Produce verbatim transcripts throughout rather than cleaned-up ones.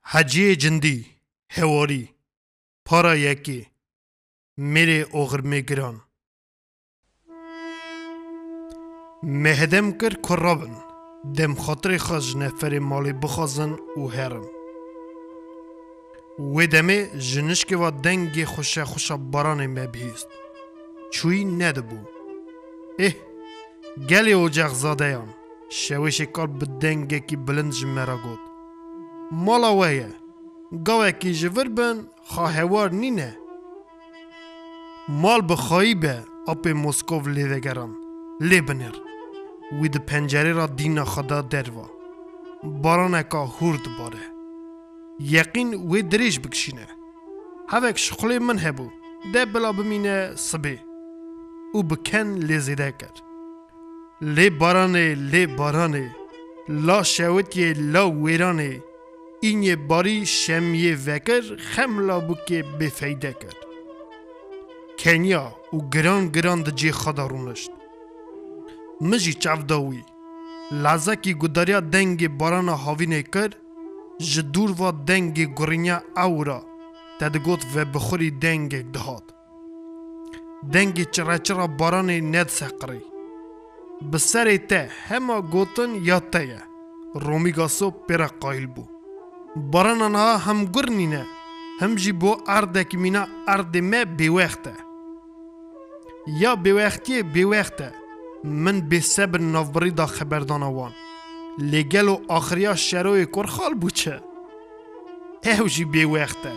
حجی جندی هواری پارا یکی میره اوغر میگران مهدم کر کرابن دم خاطر خاج نفر مالی بخازن و هرن و دمه جنشک و دنگ خوشه خوشه باران مبهیست چوی ندبو اه گلی اوجاق زاده یان شویش کار بدنگه کی بلند جمرا گود مالا ویه گاوه کی جور بن خواهوار نینه مال بخواهی به اپ موسکوف لیوگران لیبنر وی ده پنجره را دینا خدا دروا بارانه که هورد باره یقین وی دریش بکشینه هفک شخلی من هبو ده بلا بمینه صبی او بکن لیزیده کرد لی بارانه لی بارانه لا شوتیه لا ویرانه اینی باری شمیه وکر خملا بوکه بفیده کرد کنیا و گران گران ده جی خدا رونشت مجی چافداوی لازکی گداریا دنگ باران هاوینه کرد جدور و دنگ گرینیا اورا تدگوت و بخوری دنگ دهات دنگ چرا چرا باران ند سقری بسر ته همه گوتن یا تایه رومیگاسو پیرا قایل بو باران آنها هم گرنینه هم جی بو اردک مینا ارد ما بیوخته یا بیوختی بیوخته من بی سبر نوبری دا خبردان وان لگل و آخریا شروع کرخال بوچه او جی بیوخته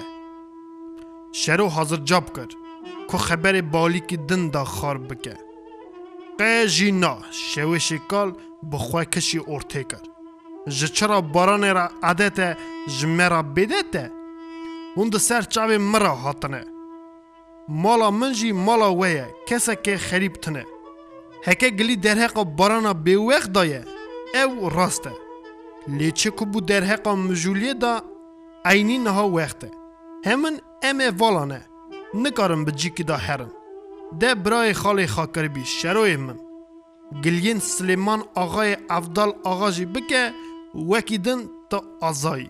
شروع حاضر جاب کرد که خبر بالی که دن دا خار بکه قیجی نا شوی شکال بخواه کشی ارته کرد جچرا باران را عادت جمرا بدته هند سر چاوی مرا هاتنه مالا منجی مالا ویه کسا که خریب تنه هکه گلی درهقا بارانا بیوخ دایه او راسته لیچه کبو درهقا مجولیه دا اینی نها وقته همین امه والانه نکارم بجی که دا هرن ده برای خالی خاکر بی شروع من گلین سلیمان آقای افضل آغاجی بکه وکیدن تا آزایی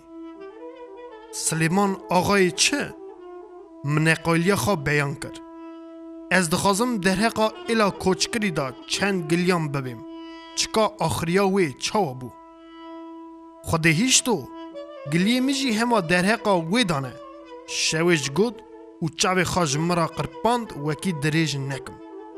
سلیمان آقای چه؟ من قایلی خواب بیان کرد از دخوازم درهقا ایلا کوچکری دا چند گلیان ببیم چکا آخریا وی چاوا بو خوده هیچ تو گلیه میجی همه درهقا وی دانه شویش گود و چاوی خواج مرا قرپاند وکی دریج نکم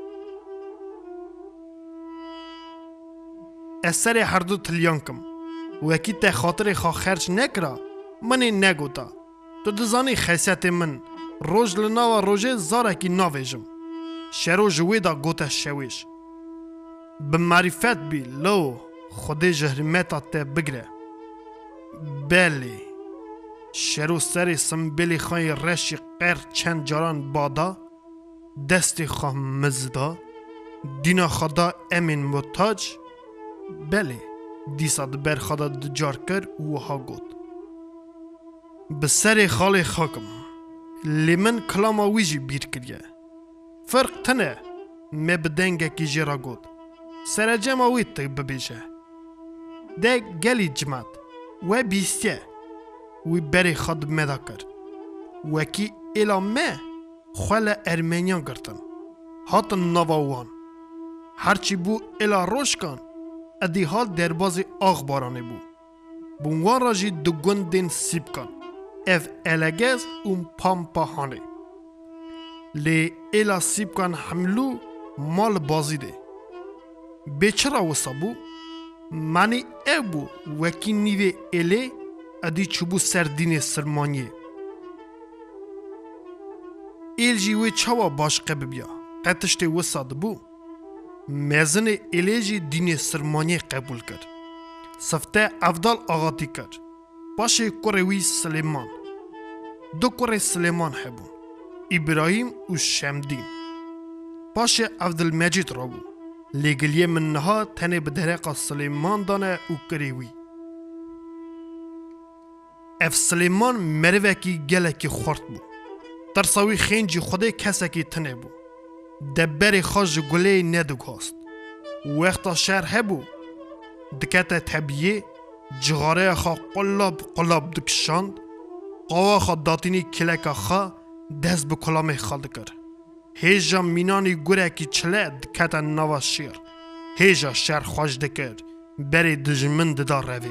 از سر هر دو تلیان کم وکی تا خاطر خواه خرچ نکرا منی نگوتا تو دزانی خیسیت من روز لناو روژه زارکی ناویجم شرو جوی دا گوتا شویش به معرفت بی لو خود جهرمتا تا بگره بلی شرو سری سنبیلی خواهی رشی قیر چند جاران بادا دستی خواه مزدا دینا خدا امین متاج بلی دیسا دبر خدا دجار کر و ها گوت به سری خالی خاکم لیمن کلاما ویجی بیر کریه فرق تنه می بدنگه کی جرا گود سر جمع وید تک ببیشه ده گلی جمعت و بیستیه وی بری خود مدا کرد وکی ایلا مه خوال ارمنیان گرتن هاتن نواوان هرچی بو ایلا روش کن ادی حال دربازی آغ بارانه بو بونوان راجی دو گندین سیب کن اف الگز اون پامپا هانه لی ایلا سیب کن حملو مال بازی ده بیچرا وسا بو منی او بو وکی نیوه ایلی ادی چوبو سردین سرمانیه ایل جیوی چاوا باشقه ببیا قطشت وسا ده بو مزن ایلی جی دین سرمانیه قبول کرد سفته افضل آغاتی کرد باشه کوروی سلیمان دو کوره سلیمان هبون ابراهیم و شمدین باشه عبدالمجید را بو لیگلیه من نها تنه به درقا سلیمان دانه و کریوی اف سلیمان مروکی گلکی خورد بو ترساوی خینجی خوده کسکی تنه بو دبری خاج گله ندوگ هست وقتا شهر هبو دکت طبیعی جغاره خواه قلاب قلاب دکشاند قوا خا داتینی کلکا خا دست به کلام خالد کر هیجا مینانی گره کی چله دکتا نوا شیر هیجا شر خوش دکر بری دجمن ددار روی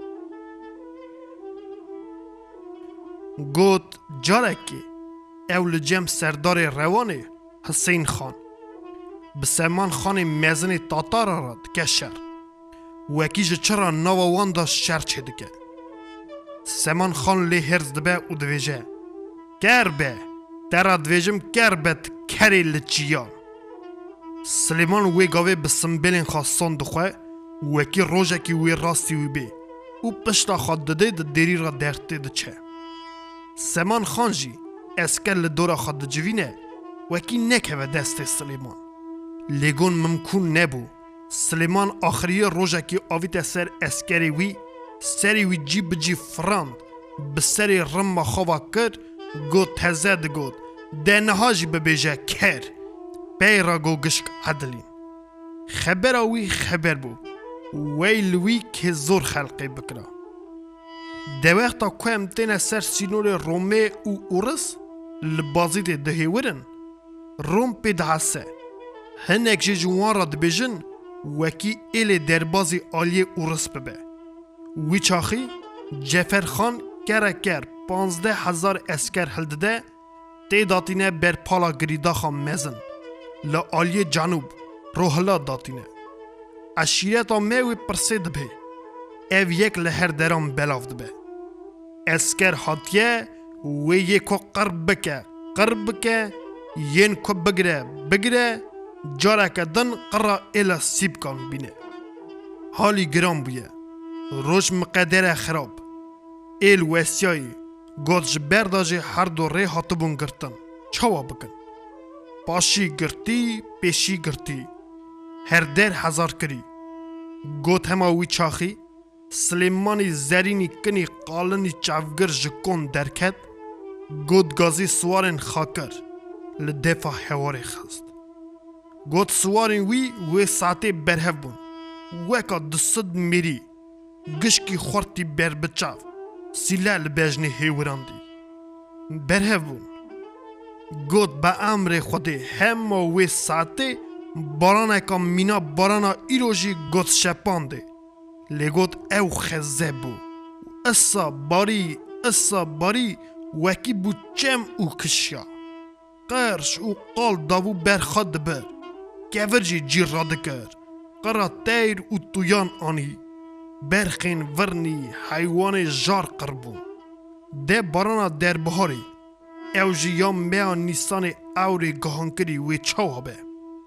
گوت جارکی اول جم سردار روانه حسین خان به سلمان خان مزن تاتار را دکشر وکیج چرا نوا واندا شر چه دکه سلمان خان لی هرز دبه و دویجه گر به در دویجم گر بد کری لچیان سلیمان وی گاوه به سنبیلین خواستان دخواه وکی روژه کی وی راستی وی بی و پشتا خواد دده ده دیری را درته ده چه سلمان خان جی اسکر لدورا خواد جوینه وکی نکه و دست سلیمان لیگون ممکن نبو سلیمان آخری روژه کی آویت سر اسکری وی سری وی جی بجی فراند به سری رم خواه کرد گوت تزد گوت دنها جی ببیجه کر بی را گو گشک عدلین خبر وی خبر بو ویل وی که زور خلقی بکرا ده وقتا که امتین سر سینور رومه و اورس لبازی ده دهی ورن روم پی دهسه هنک جی جوان را دبیجن وکی ایل دربازی آلی اورس ببه وی چاخی جفر خان کره کر پانزده هزار اسکر هلده تی داتینه بر پالا گریدا خان مزن لا آلی جنوب روحلا داتینه اشیرتا میوی پرسید به او یک لهر درام بلافد به اسکر حاتیه و یکو قرب بکه قرب بکه ین کو بگره بگره جاره که دن قرا ایلا سیب کن بینه حالی گرام بویه روش مقدر خراب ایل وسیایی گوش برداجی هر دو ری حاطبون گرتن چوا بکن پاشی گرتی پیشی گرتی هر در هزار کری گوت هماوی چاخی سلیمانی زرینی کنی قالنی چافگر جکون درکت گوت گازی سوارن خاکر لدفع حواری خست گوت سوارن وی وی ساعتی برهف بون وکا دست میری گشکی خورتی بر بچاف سیلال بجنی هیوراندی برهف بون گوت با امر خودی همه وی ساعتی بارانه که مینا بارانا ایروژی گوت شپانده لگوت او خزه بو اصا باری اصا باری وکی بو چم او کشیا قرش او قال داوو برخاد بر گورجی جیر را دکر قرا تیر او تویان آنی برخین ورنی حیوان جار قربون ده بارانا در بهاری او جیام میا نیسان اوری گهانکری وی چاوا به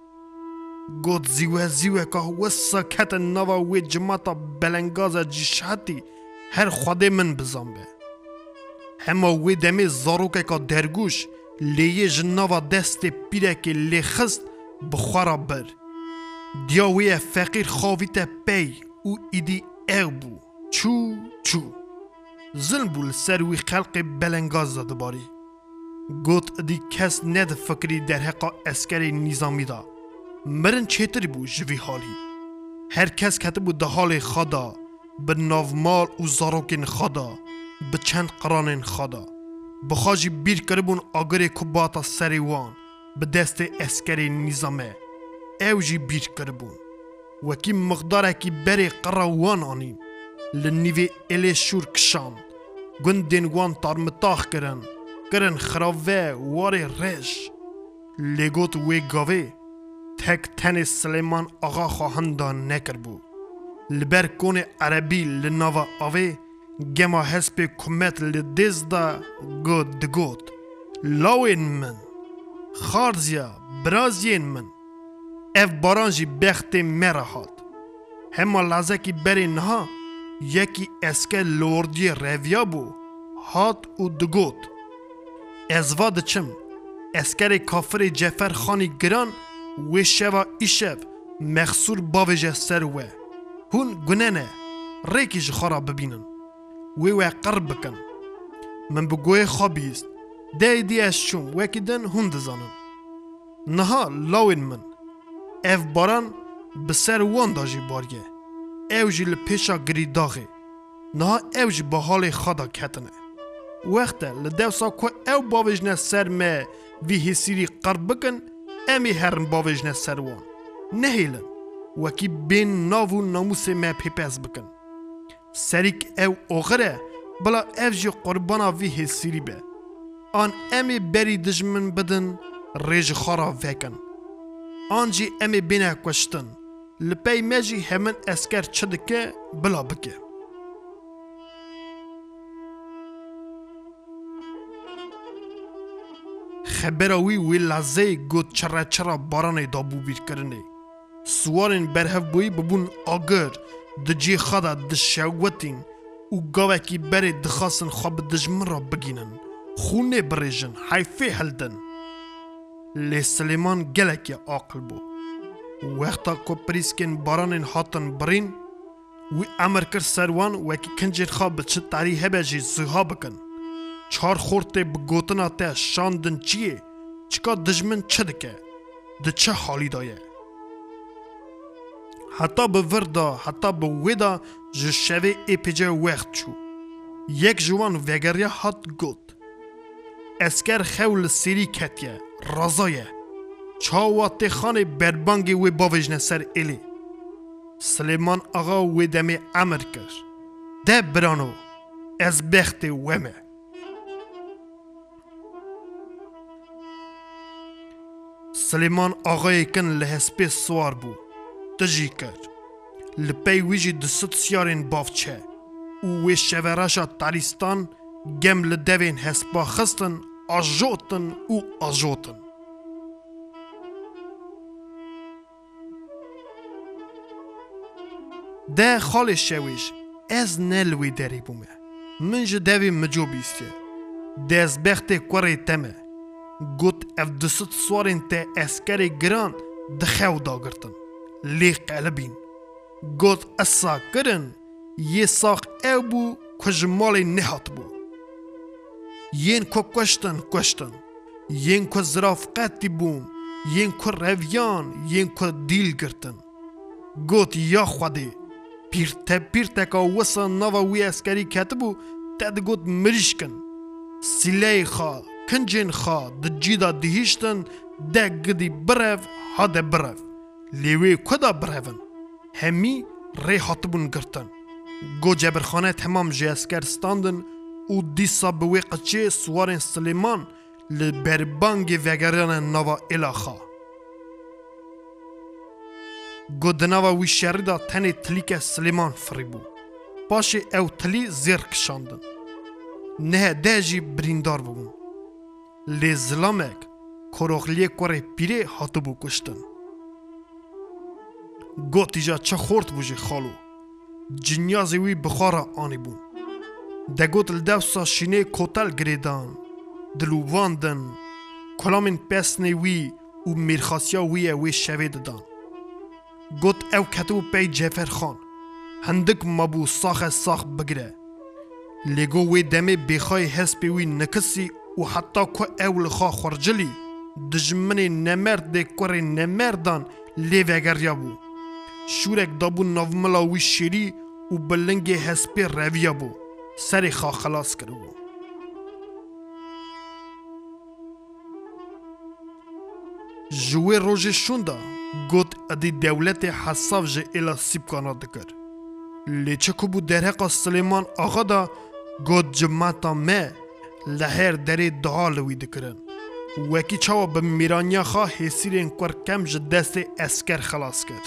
گود زیوه زیوه که وسا کت نوا وی جماعتا بلنگاز جیشاتی هر خواده من بزن به همه وی دمی زاروکه که درگوش لیه جناوا دست پیره که لی خست بخورا بر دیا وی فقیر خواهیت پی او ایدی او بو چو چو ظلم بول سر وی خلق بلنگاز داده باری گوت دی کس ند فکری در حقا اسکری نظامی دا مرن چیتری بو جوی حالی هر کس کته بو ده حال خدا به ناومال و زاروکین خدا به چند قرانین خدا بخواجی بیر کربون آگر کباتا سریوان به دست اسکری نظامه اوجی بیر کربون وکی مقداره کی بری قراوان آنیم لنیوی الی شور کشان گندین وان تارمتاخ کرن کرن خراوه واری رش لگوت وی گاوه تک تن سلیمان آقا خواهندان نکر بو لبر کون عربی لناوا آوه گما حسب کمت لدیز دا گود دگود لاوین من خارزیا برازین من اف بارانجی بخت مرا هات همه لحظه کی بری نها یکی اسکه لوردی رویا بو هات و دگود ازواد چم اسکر کافر جفر خانی گران و شوا ایشب مخصور باوجه سر و هون گننه ریکیش خورا ببینن و و قرب بکن من بگوی خوابیست دی دی از چون وکی دن هون دزانن نها لاوین من اف باران بسر وان داجی باریه او جی لپیشا گری داغه نها او جی با حال خدا کتنه وقتا لدوسا کو او باوجنه سر ما وی هسیری قرب بکن امی هرم باوجنه سروان نهیلن وکی بین ناو ناموس ما پیپز بکن سریک او آخره بلا او جی قربانا وی هسیری به آن امی بری دجمن بدن ریج خارا وکن آن جی امی بینه کشتن لپی مجی همن اسکر چدکه بلا بکه خبراوی وی لحظه گود چرا چرا باران دابو بیر کرنه سوارن برهف بوی ببون آگر دجی خدا دشوتین و گاوکی بره دخواستن خواب دجمن را بگینن خونه بریجن حیفه هلدن لی سلیمان گلکی عاقل بو وقتا کو پریسکن باران هاتن برین وی امر کر سروان وکی کنجر خواب چه تاری هبه جی زها بکن چار خورته بگوتنا تا شاندن چیه چکا دجمن چه دکه ده چه حالی دایه حتی به وردا حتی به ویدا جو شوه ایپیجه وقت چو یک جوان وگریا هات گوت اسکر خول سیری کتیه رازایه چاوات خانه بربانگی وی باوجنه سر ایلی سلیمان آقا وی دمی امر کر ده برانو از بخت ومه سلیمان آقای کن لحسپی سوار بو تجی کرد لپی ویجی دست سیارین بافچه و وی شوراشا تاریستان گم لدوین حسپا خستن آجوتن و آجوتن ده خال شویش از نلوی داری بومه من جه دوی مجو بیسته ده از بخت کوری تمه گوت اف دست سوارین تا اسکر گران دخو داگرتن لی قلبین گوت اصا کرن یه ساق او بو کجمال نهات بو ین کو کشتن کشتن ین کو زرافقتی بون ین کو رویان ین کو دیل گرتن گوت یا خودی پیرته پیرته که وسا نوا وی اسکری کتبو تد گوت مریشکن سیلی خواه کنجین خواه ده جیدا دهیشتن ده گدی برف ها ده برف لیوی کدا برفن همی ری حاطبون گرتن گو جبرخانه تمام جی اسکر ستاندن و دیسا بوی قچه سوارن سلیمان لبربانگ وگران نوا الاخا گو دناوا وی شردا تنی تلیک سلیمان فریبو پاش او تلی زیر کشاندن نه ده جی بریندار بون لی زلامک کروخلی کوری پیره هاتو بو کشتن گو تیجا چه خورد بوجی خالو جنیازی وی بخارا آنی بون ده گوت لدوسا شینه کوتل گریدان دلو واندن کلامین پسنی وی و میرخاسیا وی وی شوی ددان گوت او کتو پی جفر خان هندک مابو ساخ ساخ بگره لگو وی دمه بخوای حسبی وی نکسی و حتی که او لخوا خورجلی دجمنی نمرد ده کوری نمردان لی وگریا بو شورک دابو نوملا وی شیری و بلنگ حسبی رویا بو سری خواه خلاص کرو بو جوی روژ شوندا گوت ادی دولت حساف جه ایلا سیب کانا دکر لیچه که بو درهقا سلیمان آقا دا گوت جمعتا مه لحر دری دعالوی دکرن وکی چاوا به میرانیا خواه حسیرین کور کم جه دست اسکر خلاص کرد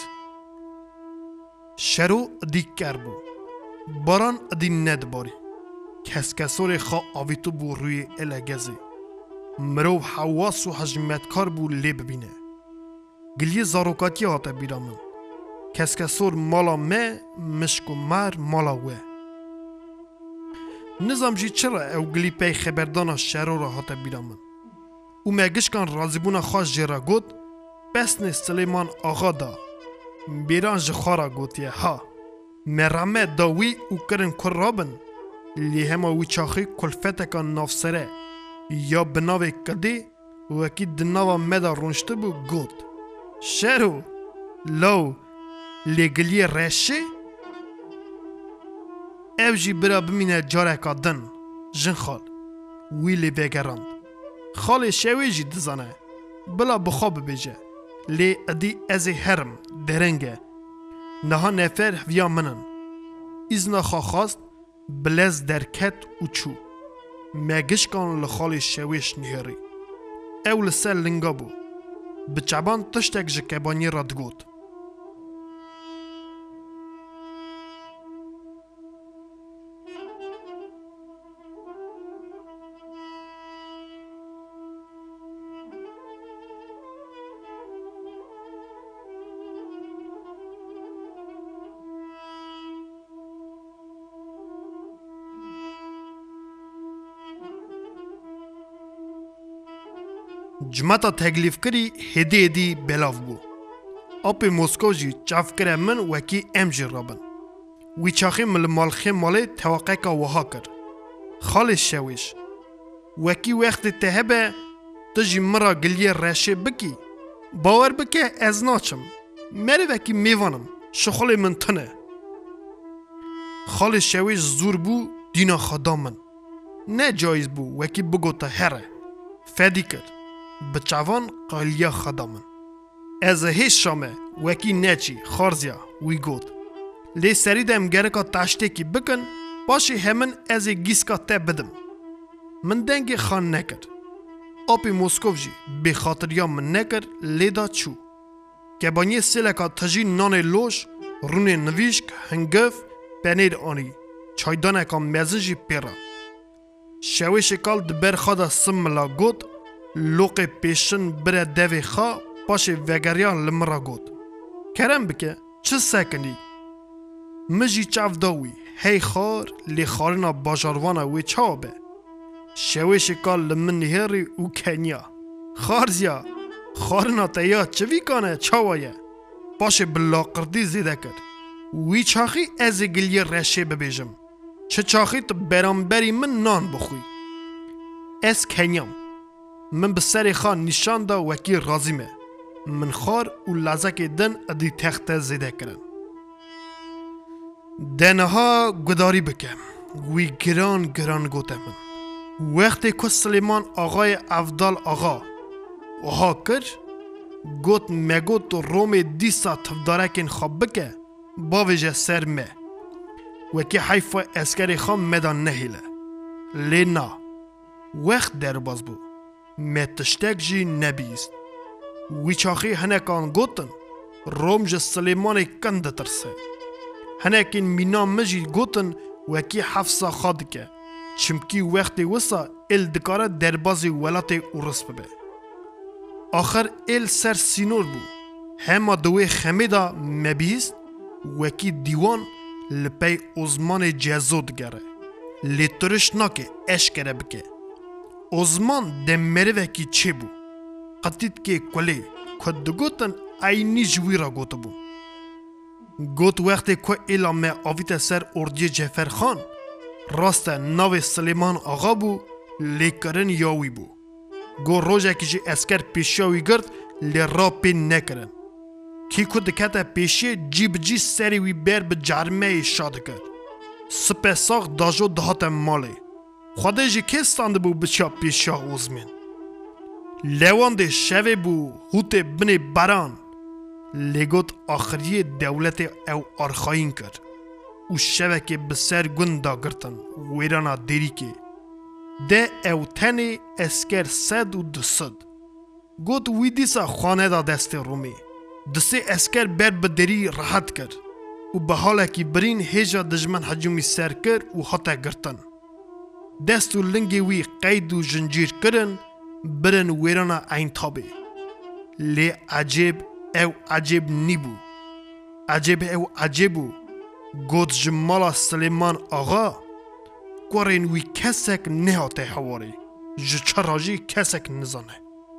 شرو ادی کر بو باران ادی ند باری کس کسور خواه آویتو بو روی الگزی مرو حواس و حجمتکار بو لی ببینه گلیه زاروکاتی هاته بیرامن کس کسور مالا مه مشک و مر مالا وه نظام جی چرا او گلی پی خبردانا شهرو را هاته بیرامن او مگشکان رازیبونا خواست جیرا گود بسن سلیمان آغا دا بیران جخارا گوتیه ها مرامه داوی او کرن کرابن لی همه وی چاخی کلفتکان نافسره یا بناوی کدی وکی دناوا مدا رونشته بو گود شرو لو لگلی رشه او جی برا بمینه جاره که دن جن خال وی لی بگراند. خال شوی جی دزانه بلا بخواب بجه لی ادی از هرم درنگه نها نفر ویا منن ایزنا خواست بلز درکت و چو مگش کان لخال شویش نیاری اول سر لنگا بو بچبان تشتک جکبانی را دگود. جمعتا تکلیف کری هدی هدی بلاف بو. آپ موسکو جی چاف کره من وکی ام جی رابن. وی چاخی مل مالخی مالی توقع که وها کر. خالش شویش. وکی وقت تهبه تجی مرا گلیه رشه بکی. باور بکه از ناچم. مری وکی میوانم. شخال من تنه. خالش شویش زور بو دینا خدامن. نه جایز بو وکی بگو تا هره. فدی کرد. بچوان قالیا خدامن. از هیچ شامه وکی نچی خارزیا وی گود. لی سری دم گرکا تاشته کی بکن باشی همن از گیسکا ته بدم. من دنگ خان نکرد. آپی موسکوف جی به خاطریا من نکرد لیدا چو. که بانی سیلکا تجی نان لوش رون نویشک هنگف پنیر آنی چایدانه که مزنجی پیرا. شوی شکال دبر خدا سملا گود لوق پیشن بره دوی خواه پاش وگریان لمرا گود. کرم بکه چه سکنی؟ مجی چاف داوی هی خار لی خارنا باجاروانا وی چاوبه. شوی شکال لمن نهری و کنیا. خارزیا خارنا تیا چوی کانه چاوایه. پاش بلا قردی زیده کرد. وی چاخی از گلیه رشه ببیجم. چه چاخی تو برانبری من نان بخوی. از کنیام. من بسری خان نشان دا وکی رازیمه. من خار و لازک دن ادی تخت زیده کرن. دنها گداری بکم. وی گران گران گوته من. وقتی که سلیمان آقای افضل آقا وها کر گوت مگوت روم دیسا تفدارکین خواب بکه باویجه سر مه. وکی حیفا اسکری خان مدان نهیله. لینا وقت در باز بو. متشتک جی نبیست. وی چاخی هنکان گوتن روم جه سلیمان کند ترسه. هنکین مینا مجی گوتن وکی حفظا خاد که چمکی وقتی وسا ال دکاره دربازی ولات اورس ببه. آخر ال سر سینور بو. همه دوی خمیدا مبیست وکی دیوان لپی ازمان جزود گره. لیترش ناکه اشکره بکه. ازمان ده مروه کی چه بو؟ قطید که کلی کد دگوتن اینی جوی را گوت بو. گوت وقتی که ایلامه آویت سر اردی جفر خان راست ناو سلیمان آقا بو لیکرن یاوی بو. گو روژه که جی اسکر پیشیاوی گرد لی را پین نکرن. کی کد کتا پیشی جیب جی سری وی بر به جرمه شاد کرد. سپه ساق داجو دهات مالی. خواده جی که ستانده بو بچه پیشا اوزمین. لیوانده شوه بو هوت بنی بران. لگوت آخری دولت او آرخاین کرد. او شوه که بسر گنده گرتن ویرانا دیری که. ده او تنی اسکر سد و دسد. گوت ویدیسا خانه دا دست رومی. دسته اسکر بر بدری راحت کرد. و به حاله که برین هیجا دجمن حجومی سر کرد و حتا گرتن. دست و لنگی وی قید و جنجیر کرن برن ویرانا این تابه. لی عجیب او عجیب نیبو. عجیب او عجیبو. گوت جمالا سلیمان آقا گوارین وی کسک نهاته حواری. جچراجی کسک نزانه.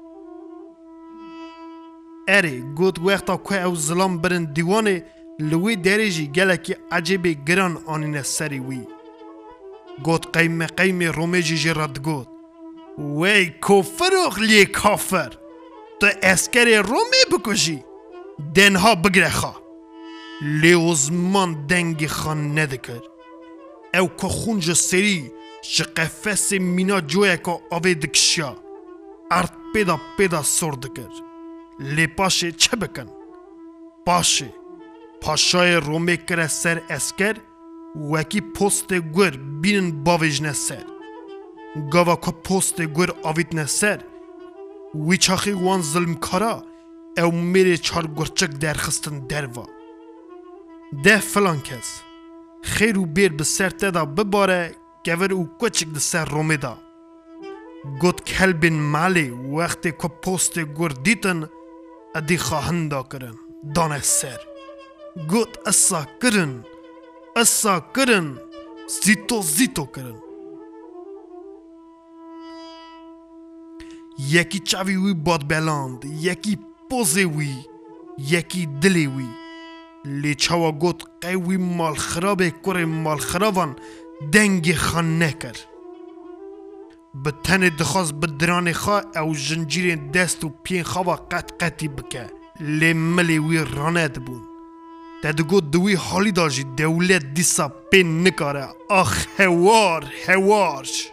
اری گوت وقتا که او ظلام برن دیوانه لوی دریجی گلکی عجیب گران آنین سری وی. گوت قیم قیم رومیجی جرد گوت وی کفر اخلی کافر تو اسکر رومی بکشی دنها بگره خواه لی ازمان دنگ خان ندکر او که خونج سری شقفس مینا جوی که آوه دکشیا ارد پیدا پیدا سر دکر لی پاشه چه بکن؟ پاشه پاشای رومه کره سر اسکر وکی پست گر بینن باویجنه سر گاوا که پست گر آویدنه سر وی چاخی وان ظلم کارا او میره چار گرچک درخستن دروا ده فلان کس خیر و بیر بسر تدا بباره گور او کچک ده سر رومه دا گوت کلبین مالی وقتی که پست گر دیتن ادی خواهندا کرن دانه سر گوت اسا کرن اسا کرن زیتو زیتو کرن یکی چاوی وی باد بلاند یکی پوزه وی یکی دلی وی لی چاوا گوت قوی مال خرابه کره مال خرابان دنگ خان نکر به تن دخواست به دران خواه او جنجیر دست و پین خواه قط قطی بکه لی ملی وی رانه دبون دادگو دوی حالی داجی دولت دیسا پین نکاره آخ هوار هوارش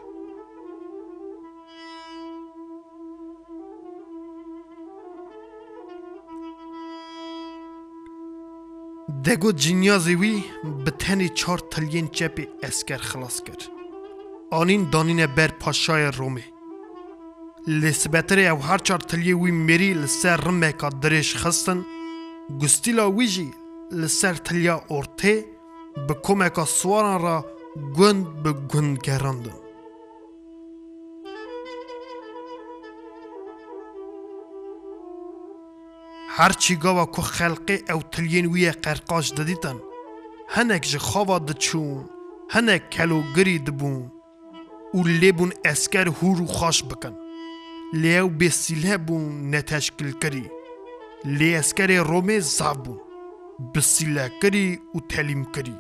دگو جنیازی وی به تنی چار تلین چپی اسکر خلاص کرد آنین دانین بر پاشای رومه لسبتره او هر چار تلیه وی میری لسر رمه که درش خستن گستیلا ویجی لسر تلیا ارته به کمک سواران را گند به گند گراندن هرچی گاوا که خلقه او تلین وی قرقاش دادیتن هنک جه خوا دچون هنک کلو گری دبون او لیبون اسکر هورو خاش بکن لیو بسیله بون نتشکل کری لی اسکر رومه زابون بسیله کری و تعلیم کری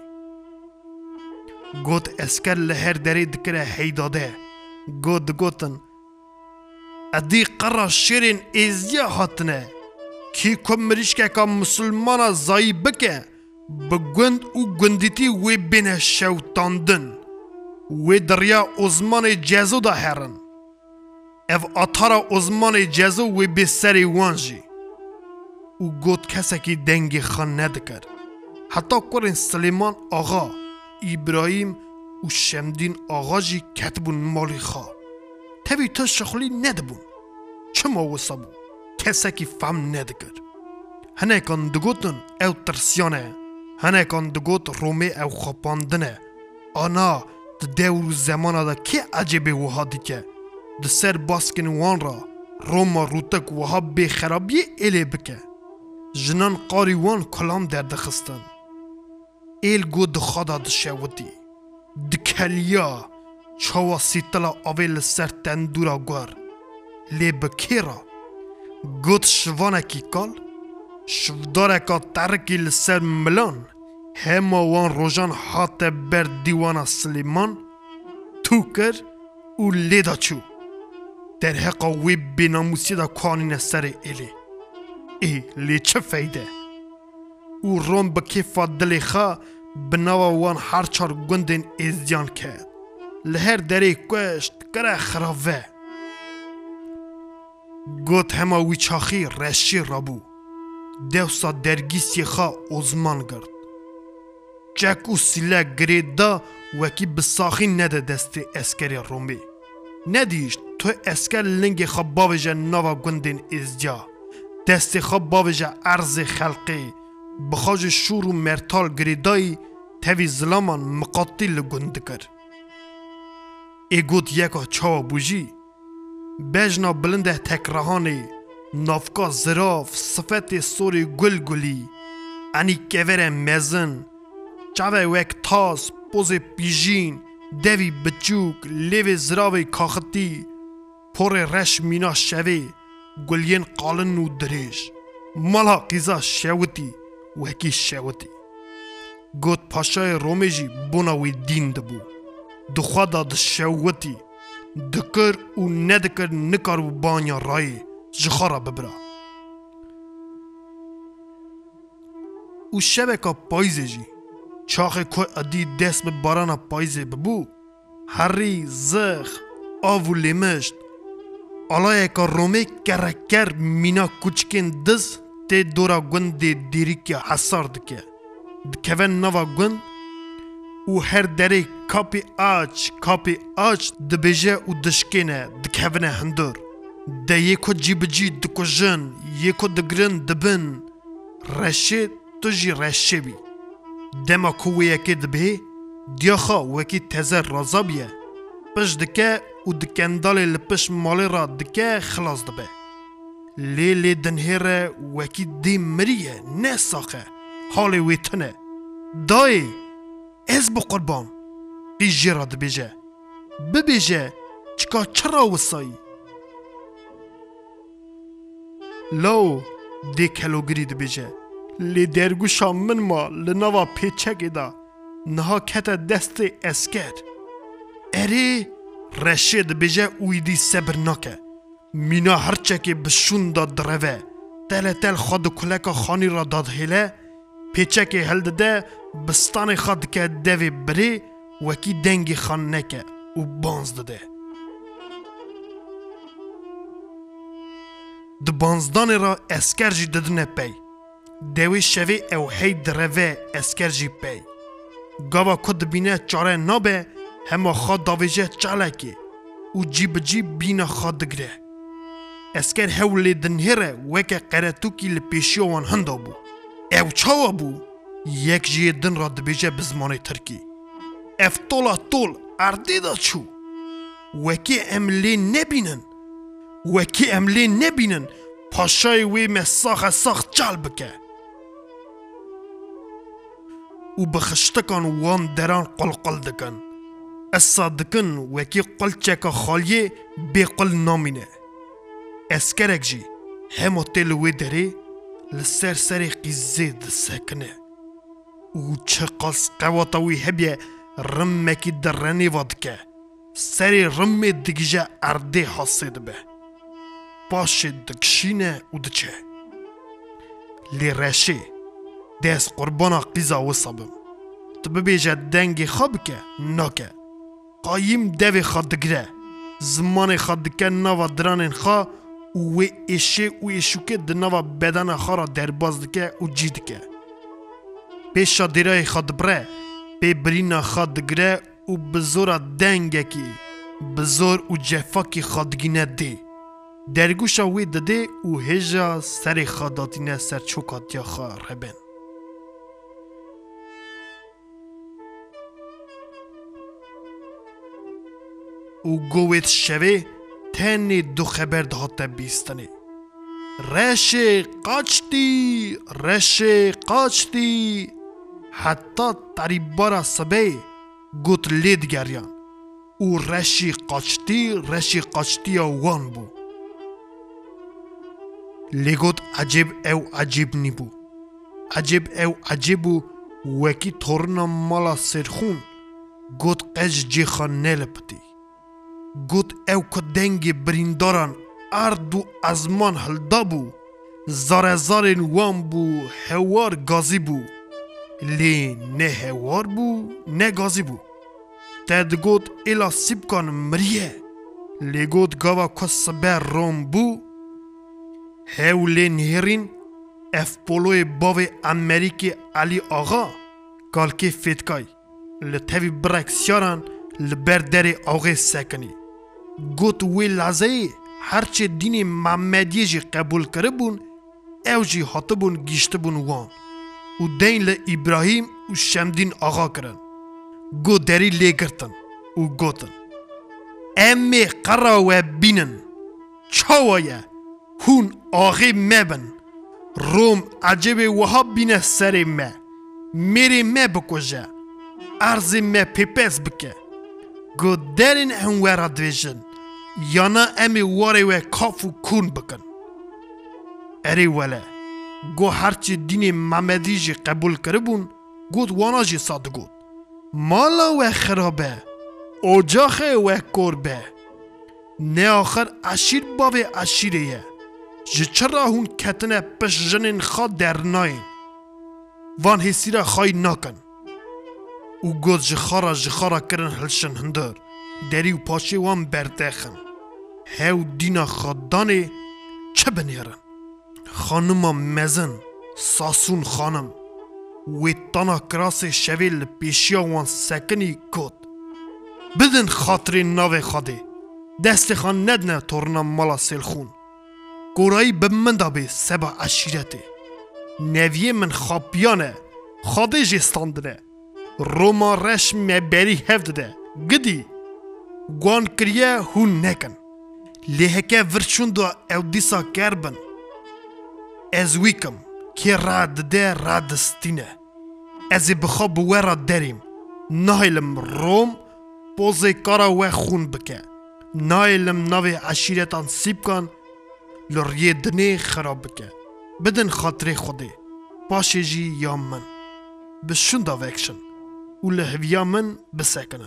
گوت اسکر لهر داره دکره هیداده گوت گوتن ادی قرار شیرین ازیا هاتنه کی کم مریشکه که مسلمانا زایی بکه بگوند او گندیتی وی بینه شوتاندن وی دریا ازمان جزو دا هرن او آتارا ازمان جزو وی بی سری وانجی او گوت کسی که دنگی خان ندکر حتی کرن سلیمان آغا ابراهیم و شمدین آغا جی کتبون مالی خواه تبی تا شخلی ندبون چما وصابون کسی که فهم ندکر هنه کن دگوتن او ترسیانه هنه کن دگوت رومه او خپاندنه آنا ده دور زمانه دا که عجبه وها دیکه ده سر باسکن وان را روما روتک وها به خرابی ایلی بکه جنان قاری وان کلام در دخستن ایل گو دخادا دشوتی دکلیا چاوا سیتلا آویل سر تندورا گوار لی بکیرا گوت شوانه کی کال شوداره که ترکی لسر ملان هما وان روژان حات بر دیوانا سلیمان تو کر او لیدا چو در حقا وی بیناموسی دا کانین سر ایلی ای لی چه فایده او روم بکیفا دلی خواه بناوا وان هر چار گندین ازیان کرد لهر دری کشت کره خراوه گوت هما وی چاخی رشی رابو دوسا درگیسی خواه ازمان گرد چک و سیله گرید دا وکی بساخی نده دست اسکری رومی ندیشت تو اسکر لنگ خواه باویجه نوا گندین ازجا دست خواه باویجه عرض خلقی بخواج شور و مرتال گریدایی تاوی ظلامان مقاتل گند کر ای گوت یکا چاوا بوجی بجنا بلنده تکرهانی نافکا زراف صفت سوری گل گلی انی کور مزن چاوه وک تاس پوز پیجین دوی بچوک لیو زراوی کاختی پر رش مینا شوی گلین قالن و دریش مالا قیزا شوتی وکی شوتی گوت پاشای رومی جی بوناوی دین دبو دخوا دا دشوتی دکر و ندکر نکار و بانیا رای جخارا ببرا او شبکا پایزه جی چاخه که ادی دست به بارانا پایزه ببو هری زخ آو لیمشت آلای که رومه کرکر مینا کوچکین دز تی دورا گوند دیری که حسار دکه دکوه نوا گوند و هر دری کپی آج کپی آج دبیجه و دشکینه دکوه هندور ده یکو جیب جی دکو جن یکو دگرن دبن رشه تو جی رشه بی دما کوه یکی دبه دیاخا وکی تزر رازابیه پش دکه و دکندال لپش مالی را دکه خلاص دبه لی لی دنهره وکی دی مریه نه ساخه حال ویتنه دای از بو قربان قیجی را دبیجه ببیجه چکا چرا وسایی لو دی کلوگری دبیجه لی درگو شامن ما لنوا پیچک دا نها کت دست اسکر اری رشید بیجه اویدی صبر نکه مینا هرچه که بشون داد دروه تل تل خود کلک خانی را داد هیله پیچه که هل داده بستان خود که دوی بری وکی دنگی خان نکه و بانز داده د بانزدان را اسکر جی ددنه پی دوی شوی او هی دروه اسکر جی پی گاوا کد بینه چاره نابه همه خواد داویجه چالکی و جیب جیب بینه خواد دگره اسکر هولی دنهره وکه قرطوکی لپیشی وان هنده بو او چاوا بو یک جیه دن را دبیجه بزمان ترکی اف طولا طول اردی دا چو وکی املی نبینن وکی املی نبینن پاشای وی مساخ ساخ چال بکه و بخشتکان وان دران قلقل دکن اسا دکن وکی قلچک خالیه بی قل نامینه اسکرک جی همو تلوی داره لسر سر قیزه دسکنه و چه قلس قواتاوی هبیه رمکی درنی وادکه سری رم دگیجه ارده حاسد به باشه دکشینه و دچه لی رشه دست قربانا قیزا وصابم تو ببیجه دنگی خواب که ناکه قایم دوی خواد دگره زمان خواد دکه نوا درانین خواه و ایشه و ایشوکه دنوا بدن خارا در باز دکه و جی دکه پیشا دیرای خواد بره پی برینا خواد دگره و بزورا دنگه کی بزور و جفاکی خوادگینه دی درگوشا وی دده و هجا سر خواداتینه سر چوکات یا خواه ربن و گویت شوه تنی دو خبر دهاته بیستنی رشه قاچتی رشه قاچتی حتی تریبارا سبه گوت لید گریان و رشی قاچتی رشی قاچتی وان بو لگوت عجیب او عجیب نی بو عجیب او عجیب بو وکی تورنا مالا سرخون گوت قج جی خان نلپتی گوت او که دنگ برینداران ارد و ازمان هلدا بو زار زارین وان بو هوار گازی بو لی نه هوار بو نه گازی بو تد گوت ایلا سیب کن مریه لی گوت گاوا کس بر روم بو هاو لی نهرین اف پولوی باوی امریکی علی آغا کالکی فیتکای لطوی برکسیاران لبر دری آغی سکنی گوت وی لازه هرچه دین محمدیه جی قبول کرده بون او جی حاطه بون گیشته بون وان و دین ل ابراهیم و شمدین آغا کرن گو دری لی گرتن و گوتن امی قرا و بینن چاوایه هون آغی مبن روم عجب وها بینه سر ما میری ما بکجه ارزی ما پیپس بکه گو درین هم ورا دویجن یانا امی واری و کاف و کون بکن اری وله گو هرچی دین محمدی جی قبول کربون گود وانا جی ساده گود مالا و خرابه اجاخه و کربه نه آخر عشیر باوی عشیره جه چرا هون کتنه پش جنین خواد در ناین وان حسی را خواهی ناکن او گود جخارا جخارا کرن هلشن هندر دری و پاشه وان بردخن هاو دینا خدانه چه بنیرن خانم مزن ساسون خانم و تانا کراس شویل پیشیا وان سکنی کود بدن خاطر ناو خاده دست خان ندنه تورنا مالا سلخون گورایی بمن دابه سبا عشیرته نویه من خاپیانه خاده جستاندنه روما رش مبری هفته گدی گوان کریه هون نکن لیهکه ورچون دو او دیسا کربن از ویکم که راد ده رادستینه از بخواب ورا دریم نایلم روم پوزه کارا و خون بکه نایلم ناوی عشیرتان سیب کن لریه دنه خراب بکه بدن خاطر خوده پاشه جی یا من بشون دا وکشن و لحویا من بسکنن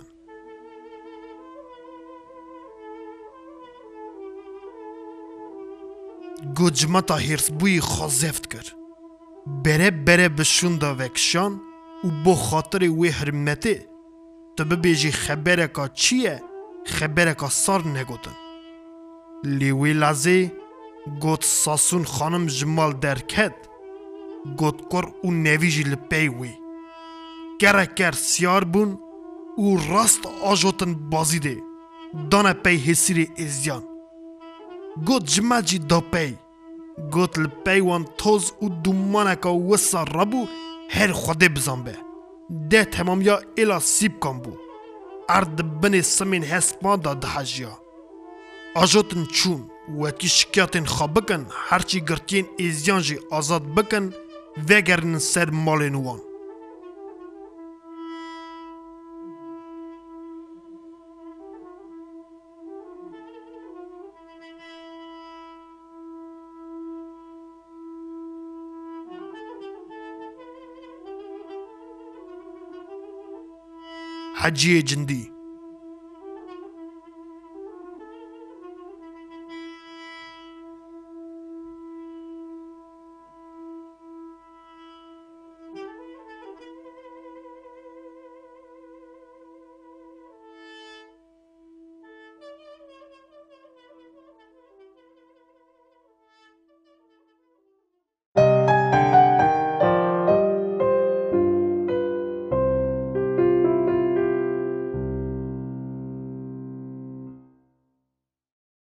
گوجمتا هیرس بوی خوزفت کر بره بره بشون دا وکشان و بو خاطر وی حرمته تو ببیجی خبره که چیه خبره که سار نگوتن لیوی لازه گوت ساسون خانم جمال درکد گوت کر و نویجی لپی وی گره گر سیار بون و راست آجوتن بازی ده دانه پی حسیر ازیان گوت جمال جی دا پی گوت لپی وان توز و دومانه که وسا ربو هر خوده بزن به ده تمام یا ایلا سیب کن بو ارد بنی سمین هسپان دا دهجیا آجوتن چون وکی شکیاتن خواب بکن هرچی گرتین ایزیان جی آزاد بکن وگرن سر مال نوان حجی جندی